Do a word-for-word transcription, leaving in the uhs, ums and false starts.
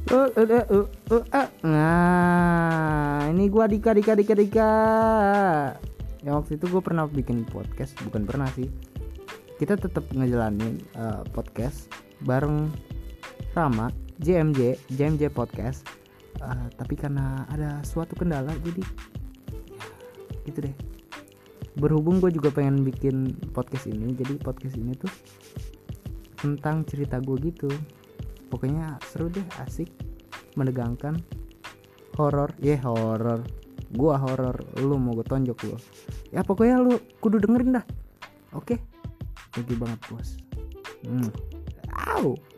Uh, uh, uh, uh, uh, uh. Nah, ini gua Dika Dika Dika Dika. Ya waktu itu gue pernah bikin podcast, bukan pernah sih. Kita tetap ngejalanin uh, podcast bareng Rama, J M J, J M J Podcast. Uh, tapi karena ada suatu kendala, jadi ya, gitu deh. Berhubung gue juga pengen bikin podcast ini, jadi podcast ini tuh tentang cerita gue gitu. Pokoknya seru deh, asik, menegangkan, horor, ya yeah, horor. Gua horor, lu mau gue tonjok lu. Ya pokoknya lu kudu dengerin dah. Oke, okay? Thank you banget bos. Hmm. Au.